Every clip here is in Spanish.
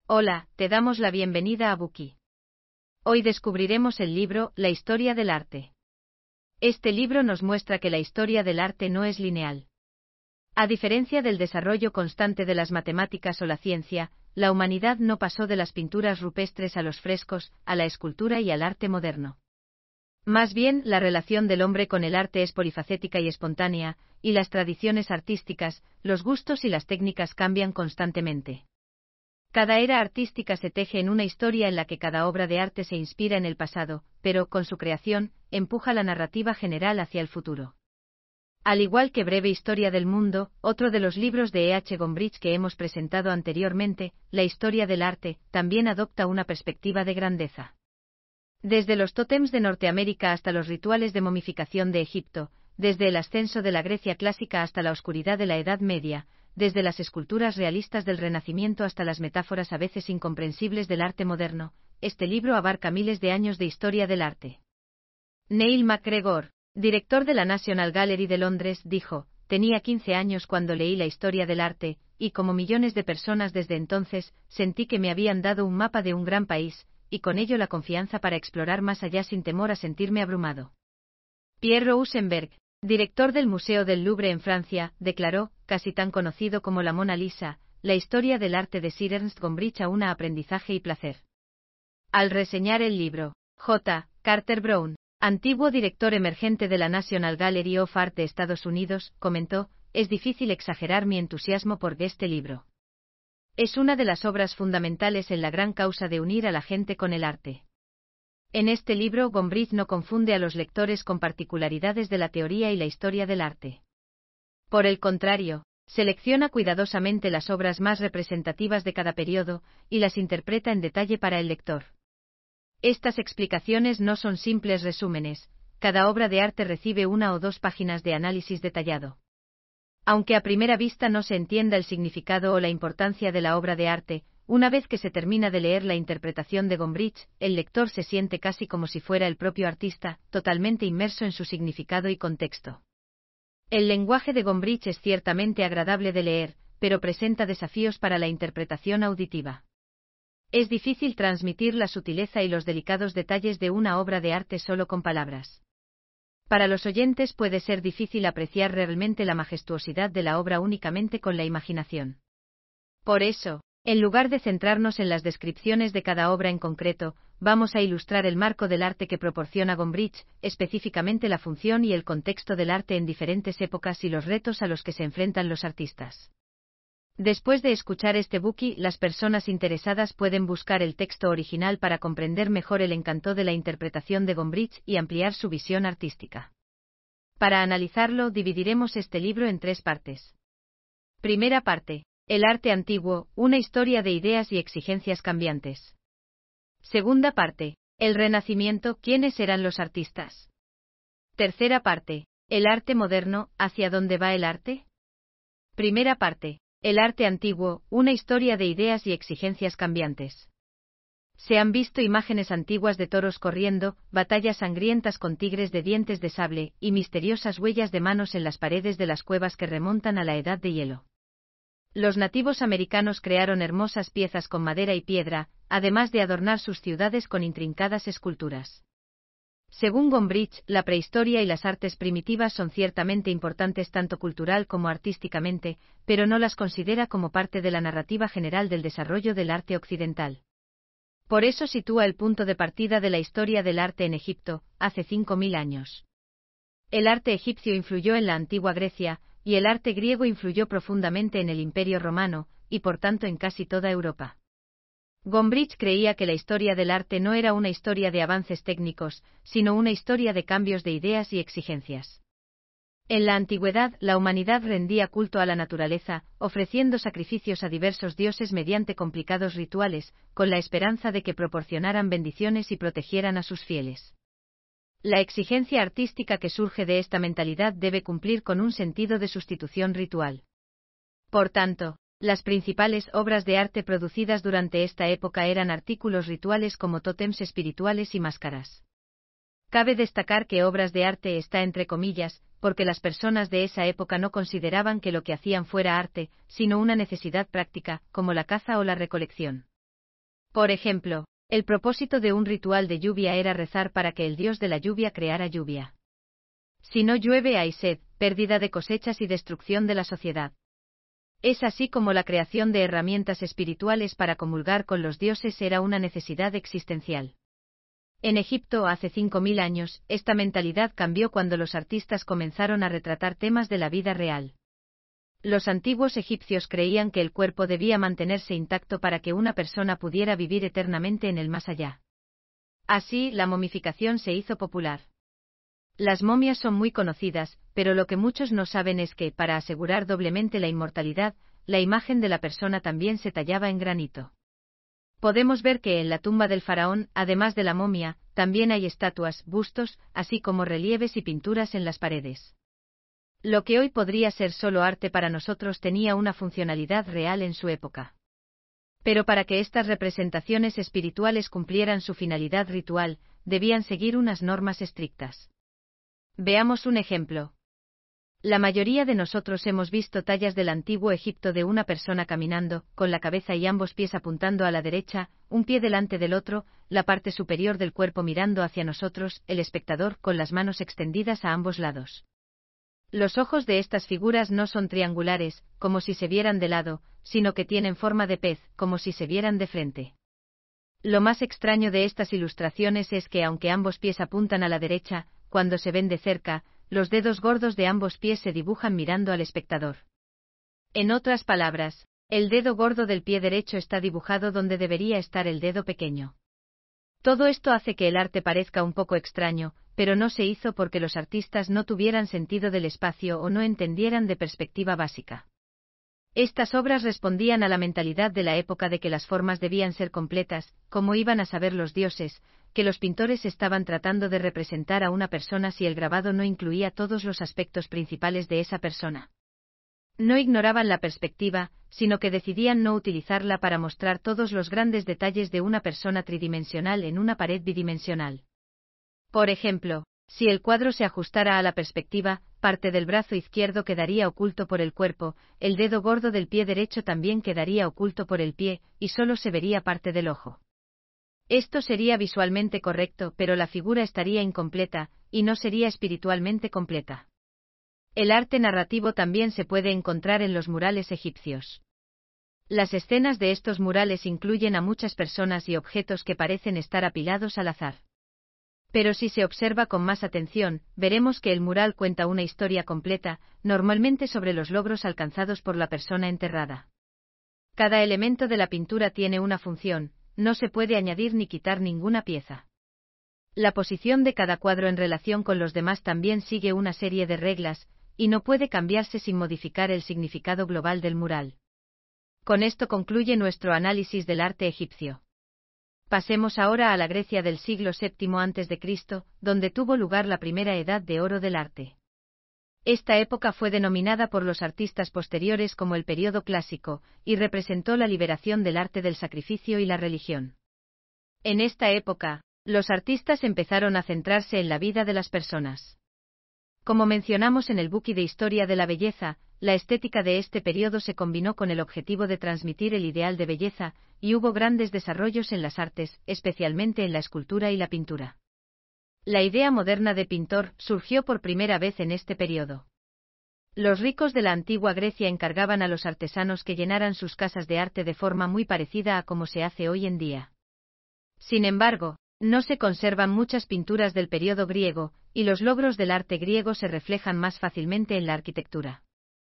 Hola, te damos la bienvenida a Buki. Hoy descubriremos el libro La historia del arte. Este libro nos muestra que la historia del arte no es lineal. A diferencia del desarrollo constante de las matemáticas o la ciencia, la humanidad no pasó de las pinturas rupestres a los frescos, a la escultura y al arte moderno. Más bien, la relación del hombre con el arte es polifacética y espontánea, y las tradiciones artísticas, los gustos y las técnicas cambian constantemente. Cada era artística se teje en una historia en la que cada obra de arte se inspira en el pasado, pero, con su creación, empuja la narrativa general hacia el futuro. Al igual que Breve Historia del Mundo, otro de los libros de E. H. Gombrich que hemos presentado anteriormente, La historia del arte, también adopta una perspectiva de grandeza. Desde los tótems de Norteamérica hasta los rituales de momificación de Egipto, desde el ascenso de la Grecia clásica hasta la oscuridad de la Edad Media, desde las esculturas realistas del Renacimiento hasta las metáforas a veces incomprensibles del arte moderno, este libro abarca miles de años de historia del arte. Neil MacGregor, director de la National Gallery de Londres, dijo: «Tenía 15 años cuando leí la historia del arte, y como millones de personas desde entonces, sentí que me habían dado un mapa de un gran país, y con ello la confianza para explorar más allá sin temor a sentirme abrumado». Pierre Rosenberg, director del Museo del Louvre en Francia, declaró, casi tan conocido como la Mona Lisa, la historia del arte de Sir Ernst Gombrich aúna un aprendizaje y placer. Al reseñar el libro, J. Carter Brown, antiguo director emergente de la National Gallery of Art de Estados Unidos, comentó: «Es difícil exagerar mi entusiasmo por este libro. Es una de las obras fundamentales en la gran causa de unir a la gente con el arte». En este libro, Gombrich no confunde a los lectores con particularidades de la teoría y la historia del arte. Por el contrario, selecciona cuidadosamente las obras más representativas de cada periodo, y las interpreta en detalle para el lector. Estas explicaciones no son simples resúmenes, cada obra de arte recibe 1 o 2 páginas de análisis detallado. Aunque a primera vista no se entienda el significado o la importancia de la obra de arte, una vez que se termina de leer la interpretación de Gombrich, el lector se siente casi como si fuera el propio artista, totalmente inmerso en su significado y contexto. El lenguaje de Gombrich es ciertamente agradable de leer, pero presenta desafíos para la interpretación auditiva. Es difícil transmitir la sutileza y los delicados detalles de una obra de arte solo con palabras. Para los oyentes puede ser difícil apreciar realmente la majestuosidad de la obra únicamente con la imaginación. Por eso, en lugar de centrarnos en las descripciones de cada obra en concreto, vamos a ilustrar el marco del arte que proporciona Gombrich, específicamente la función y el contexto del arte en diferentes épocas y los retos a los que se enfrentan los artistas. Después de escuchar este Buki, las personas interesadas pueden buscar el texto original para comprender mejor el encanto de la interpretación de Gombrich y ampliar su visión artística. Para analizarlo, dividiremos este libro en 3 partes. Primera parte: el arte antiguo, una historia de ideas y exigencias cambiantes. Segunda parte: el Renacimiento, ¿quiénes eran los artistas? Tercera parte: el arte moderno, ¿hacia dónde va el arte? Primera parte: el arte antiguo, una historia de ideas y exigencias cambiantes. Se han visto imágenes antiguas de toros corriendo, batallas sangrientas con tigres de dientes de sable, y misteriosas huellas de manos en las paredes de las cuevas que remontan a la Edad de Hielo. Los nativos americanos crearon hermosas piezas con madera y piedra, además de adornar sus ciudades con intrincadas esculturas. Según Gombrich, la prehistoria y las artes primitivas son ciertamente importantes tanto cultural como artísticamente, pero no las considera como parte de la narrativa general del desarrollo del arte occidental. Por eso sitúa el punto de partida de la historia del arte en Egipto, hace 5000 años. El arte egipcio influyó en la antigua Grecia, y el arte griego influyó profundamente en el Imperio Romano, y por tanto en casi toda Europa. Gombrich creía que la historia del arte no era una historia de avances técnicos, sino una historia de cambios de ideas y exigencias. En la antigüedad, la humanidad rendía culto a la naturaleza, ofreciendo sacrificios a diversos dioses mediante complicados rituales, con la esperanza de que proporcionaran bendiciones y protegieran a sus fieles. La exigencia artística que surge de esta mentalidad debe cumplir con un sentido de sustitución ritual. Por tanto, las principales obras de arte producidas durante esta época eran artículos rituales como tótems espirituales y máscaras. Cabe destacar que obras de arte está entre comillas, porque las personas de esa época no consideraban que lo que hacían fuera arte, sino una necesidad práctica, como la caza o la recolección. Por ejemplo, el propósito de un ritual de lluvia era rezar para que el dios de la lluvia creara lluvia. Si no llueve hay sed, pérdida de cosechas y destrucción de la sociedad. Es así como la creación de herramientas espirituales para comulgar con los dioses era una necesidad existencial. En Egipto hace 5000 años, esta mentalidad cambió cuando los artistas comenzaron a retratar temas de la vida real. Los antiguos egipcios creían que el cuerpo debía mantenerse intacto para que una persona pudiera vivir eternamente en el más allá. Así, la momificación se hizo popular. Las momias son muy conocidas, pero lo que muchos no saben es que, para asegurar doblemente la inmortalidad, la imagen de la persona también se tallaba en granito. Podemos ver que en la tumba del faraón, además de la momia, también hay estatuas, bustos, así como relieves y pinturas en las paredes. Lo que hoy podría ser solo arte para nosotros tenía una funcionalidad real en su época. Pero para que estas representaciones espirituales cumplieran su finalidad ritual, debían seguir unas normas estrictas. Veamos un ejemplo. La mayoría de nosotros hemos visto tallas del antiguo Egipto de una persona caminando, con la cabeza y ambos pies apuntando a la derecha, un pie delante del otro, la parte superior del cuerpo mirando hacia nosotros, el espectador, con las manos extendidas a ambos lados. Los ojos de estas figuras no son triangulares, como si se vieran de lado, sino que tienen forma de pez, como si se vieran de frente. Lo más extraño de estas ilustraciones es que aunque ambos pies apuntan a la derecha, cuando se ven de cerca, los dedos gordos de ambos pies se dibujan mirando al espectador. En otras palabras, el dedo gordo del pie derecho está dibujado donde debería estar el dedo pequeño. Todo esto hace que el arte parezca un poco extraño, pero no se hizo porque los artistas no tuvieran sentido del espacio o no entendieran de perspectiva básica. Estas obras respondían a la mentalidad de la época de que las formas debían ser completas, como iban a saber los dioses, que los pintores estaban tratando de representar a una persona si el grabado no incluía todos los aspectos principales de esa persona. No ignoraban la perspectiva, sino que decidían no utilizarla para mostrar todos los grandes detalles de una persona tridimensional en una pared bidimensional. Por ejemplo, si el cuadro se ajustara a la perspectiva, parte del brazo izquierdo quedaría oculto por el cuerpo, el dedo gordo del pie derecho también quedaría oculto por el pie, y solo se vería parte del ojo. Esto sería visualmente correcto, pero la figura estaría incompleta, y no sería espiritualmente completa. El arte narrativo también se puede encontrar en los murales egipcios. Las escenas de estos murales incluyen a muchas personas y objetos que parecen estar apilados al azar. Pero si se observa con más atención, veremos que el mural cuenta una historia completa, normalmente sobre los logros alcanzados por la persona enterrada. Cada elemento de la pintura tiene una función, no se puede añadir ni quitar ninguna pieza. La posición de cada cuadro en relación con los demás también sigue una serie de reglas, y no puede cambiarse sin modificar el significado global del mural. Con esto concluye nuestro análisis del arte egipcio. Pasemos ahora a la Grecia del siglo VII a.C., donde tuvo lugar la primera edad de oro del arte. Esta época fue denominada por los artistas posteriores como el período clásico, y representó la liberación del arte del sacrificio y la religión. En esta época, los artistas empezaron a centrarse en la vida de las personas. Como mencionamos en el Buki de Historia de la Belleza, la estética de este periodo se combinó con el objetivo de transmitir el ideal de belleza, y hubo grandes desarrollos en las artes, especialmente en la escultura y la pintura. La idea moderna de pintor surgió por primera vez en este periodo. Los ricos de la antigua Grecia encargaban a los artesanos que llenaran sus casas de arte de forma muy parecida a como se hace hoy en día. Sin embargo, no se conservan muchas pinturas del periodo griego, y los logros del arte griego se reflejan más fácilmente en la arquitectura.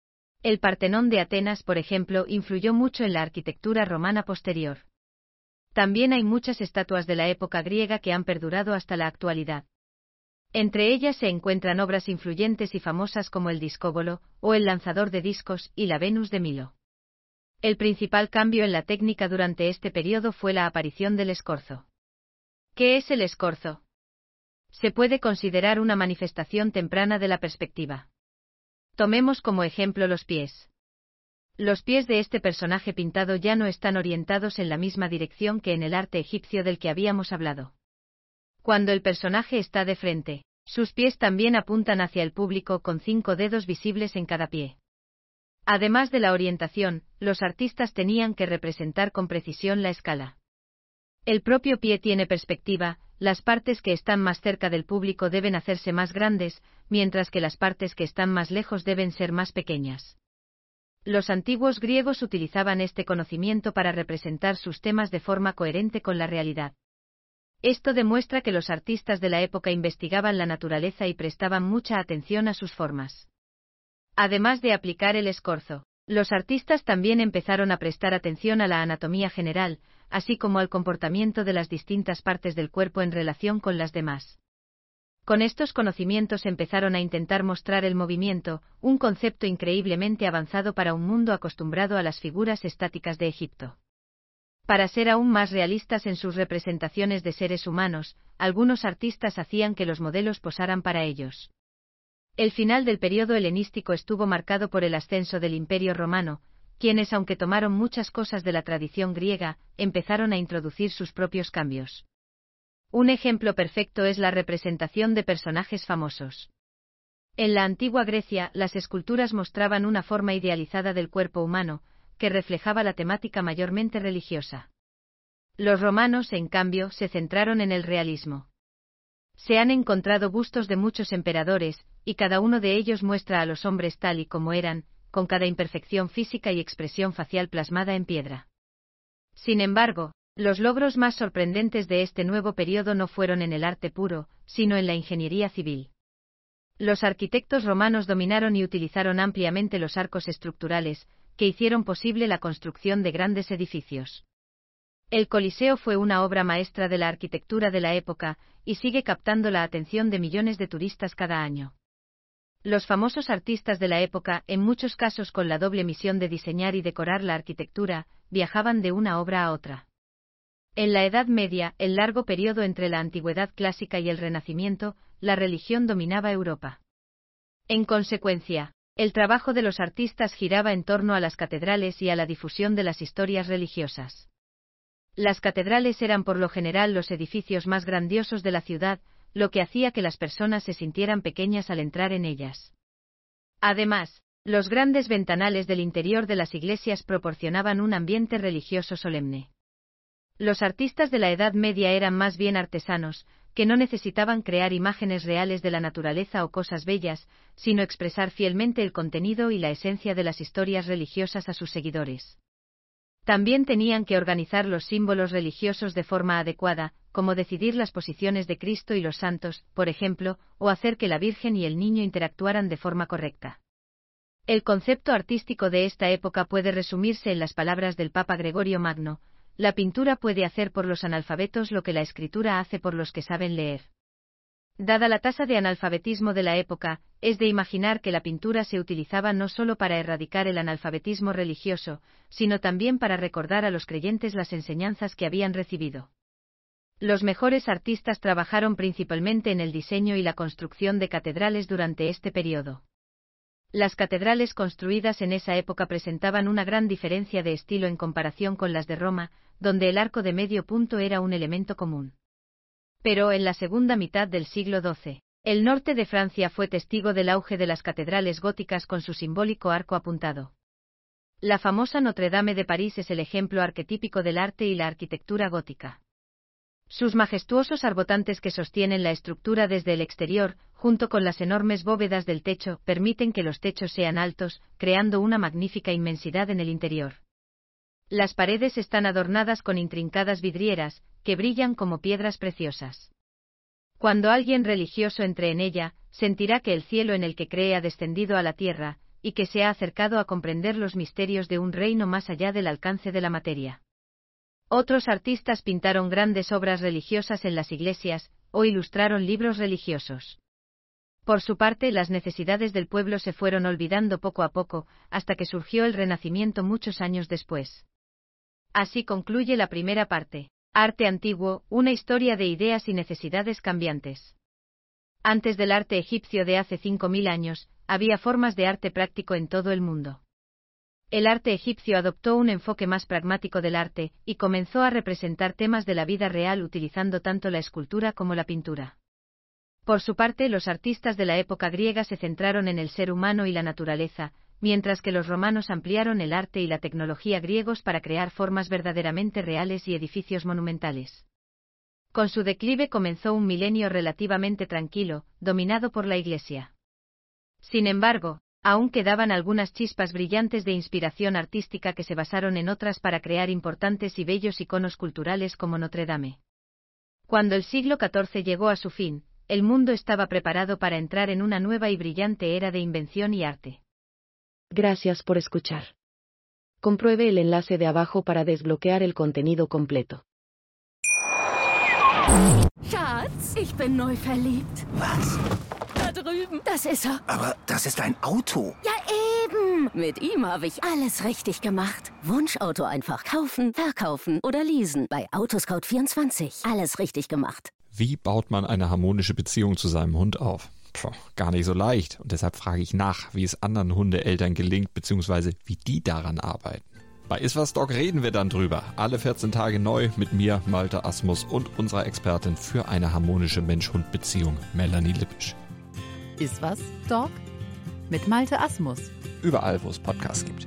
El Partenón de Atenas, por ejemplo, influyó mucho en la arquitectura romana posterior. También hay muchas estatuas de la época griega que han perdurado hasta la actualidad. Entre ellas se encuentran obras influyentes y famosas como el Discóbolo, o el lanzador de discos, y la Venus de Milo. El principal cambio en la técnica durante este periodo fue la aparición del escorzo. ¿Qué es el escorzo? Se puede considerar una manifestación temprana de la perspectiva. Tomemos como ejemplo los pies. Los pies de este personaje pintado ya no están orientados en la misma dirección que en el arte egipcio del que habíamos hablado. Cuando el personaje está de frente, sus pies también apuntan hacia el público con 5 dedos visibles en cada pie. Además de la orientación, los artistas tenían que representar con precisión la escala. El propio pie tiene perspectiva, las partes que están más cerca del público deben hacerse más grandes, mientras que las partes que están más lejos deben ser más pequeñas. Los antiguos griegos utilizaban este conocimiento para representar sus temas de forma coherente con la realidad. Esto demuestra que los artistas de la época investigaban la naturaleza y prestaban mucha atención a sus formas. Además de aplicar el escorzo, los artistas también empezaron a prestar atención a la anatomía general, así como al comportamiento de las distintas partes del cuerpo en relación con las demás. Con estos conocimientos empezaron a intentar mostrar el movimiento, un concepto increíblemente avanzado para un mundo acostumbrado a las figuras estáticas de Egipto. Para ser aún más realistas en sus representaciones de seres humanos, algunos artistas hacían que los modelos posaran para ellos. El final del periodo helenístico estuvo marcado por el ascenso del Imperio Romano, quienes, aunque tomaron muchas cosas de la tradición griega, empezaron a introducir sus propios cambios. Un ejemplo perfecto es la representación de personajes famosos. En la antigua Grecia, las esculturas mostraban una forma idealizada del cuerpo humano, que reflejaba la temática mayormente religiosa. Los romanos, en cambio, se centraron en el realismo. Se han encontrado bustos de muchos emperadores, y cada uno de ellos muestra a los hombres tal y como eran, con cada imperfección física y expresión facial plasmada en piedra. Sin embargo, los logros más sorprendentes de este nuevo periodo no fueron en el arte puro, sino en la ingeniería civil. Los arquitectos romanos dominaron y utilizaron ampliamente los arcos estructurales, que hicieron posible la construcción de grandes edificios. El Coliseo fue una obra maestra de la arquitectura de la época, y sigue captando la atención de millones de turistas cada año. Los famosos artistas de la época, en muchos casos con la doble misión de diseñar y decorar la arquitectura, viajaban de una obra a otra. En la Edad Media, el largo periodo entre la Antigüedad clásica y el Renacimiento, la religión dominaba Europa. En consecuencia, el trabajo de los artistas giraba en torno a las catedrales y a la difusión de las historias religiosas. Las catedrales eran por lo general los edificios más grandiosos de la ciudad, lo que hacía que las personas se sintieran pequeñas al entrar en ellas. Además, los grandes ventanales del interior de las iglesias proporcionaban un ambiente religioso solemne. Los artistas de la Edad Media eran más bien artesanos, que no necesitaban crear imágenes reales de la naturaleza o cosas bellas, sino expresar fielmente el contenido y la esencia de las historias religiosas a sus seguidores. También tenían que organizar los símbolos religiosos de forma adecuada, como decidir las posiciones de Cristo y los santos, por ejemplo, o hacer que la Virgen y el niño interactuaran de forma correcta. El concepto artístico de esta época puede resumirse en las palabras del Papa Gregorio Magno: la pintura puede hacer por los analfabetos lo que la escritura hace por los que saben leer. Dada la tasa de analfabetismo de la época, es de imaginar que la pintura se utilizaba no solo para erradicar el analfabetismo religioso, sino también para recordar a los creyentes las enseñanzas que habían recibido. Los mejores artistas trabajaron principalmente en el diseño y la construcción de catedrales durante este periodo. Las catedrales construidas en esa época presentaban una gran diferencia de estilo en comparación con las de Roma, donde el arco de medio punto era un elemento común. Pero en la segunda mitad del siglo XII, el norte de Francia fue testigo del auge de las catedrales góticas con su simbólico arco apuntado. La famosa Notre Dame de París es el ejemplo arquetípico del arte y la arquitectura gótica. Sus majestuosos arbotantes que sostienen la estructura desde el exterior, junto con las enormes bóvedas del techo, permiten que los techos sean altos, creando una magnífica inmensidad en el interior. Las paredes están adornadas con intrincadas vidrieras, que brillan como piedras preciosas. Cuando alguien religioso entre en ella, sentirá que el cielo en el que cree ha descendido a la tierra, y que se ha acercado a comprender los misterios de un reino más allá del alcance de la materia. Otros artistas pintaron grandes obras religiosas en las iglesias, o ilustraron libros religiosos. Por su parte, las necesidades del pueblo se fueron olvidando poco a poco, hasta que surgió el Renacimiento muchos años después. Así concluye la primera parte. Arte antiguo, una historia de ideas y necesidades cambiantes. Antes del arte egipcio de hace 5000 años, había formas de arte práctico en todo el mundo. El arte egipcio adoptó un enfoque más pragmático del arte, y comenzó a representar temas de la vida real utilizando tanto la escultura como la pintura. Por su parte, los artistas de la época griega se centraron en el ser humano y la naturaleza, mientras que los romanos ampliaron el arte y la tecnología griegos para crear formas verdaderamente reales y edificios monumentales. Con su declive comenzó un milenio relativamente tranquilo, dominado por la Iglesia. Sin embargo, aún quedaban algunas chispas brillantes de inspiración artística que se basaron en otras para crear importantes y bellos iconos culturales como Notre Dame. Cuando el siglo XIV llegó a su fin, el mundo estaba preparado para entrar en una nueva y brillante era de invención y arte. Gracias por escuchar. Compruebe el enlace de abajo para desbloquear el contenido completo. Schatz, ich bin neu verliebt. Was? Da drüben. Das ist er. Aber das ist ein Auto. Ja, eben. Mit ihm habe ich alles richtig gemacht. Wunschauto einfach kaufen, verkaufen oder leasen. Bei Autoscout24. Alles richtig gemacht. Wie baut man eine harmonische Beziehung zu seinem Hund auf? Gar nicht so leicht. Und deshalb frage ich nach, wie es anderen Hundeeltern gelingt, beziehungsweise wie die daran arbeiten. Bei Iswas Dog reden wir dann drüber. Alle 14 Tage neu mit mir, Malte Asmus und unserer Expertin für eine harmonische Mensch-Hund-Beziehung, Melanie Lippisch. Iswas Dog? Mit Malte Asmus. Überall, wo es Podcasts gibt.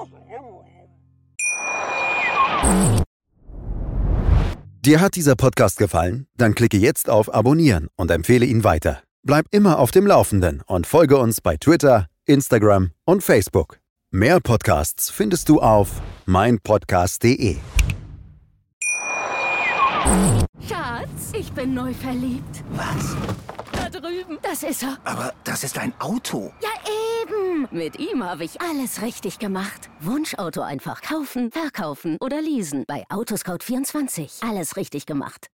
Dir hat dieser Podcast gefallen? Dann klicke jetzt auf Abonnieren und empfehle ihn weiter. Bleib immer auf dem Laufenden und folge uns bei Twitter, Instagram und Facebook. Mehr Podcasts findest du auf meinpodcast.de. Schatz, ich bin neu verliebt. Was? Da drüben. Das ist er. Aber das ist ein Auto. Ja, eben. Mit ihm habe ich alles richtig gemacht. Wunschauto einfach kaufen, verkaufen oder leasen. Bei Autoscout24. Alles richtig gemacht.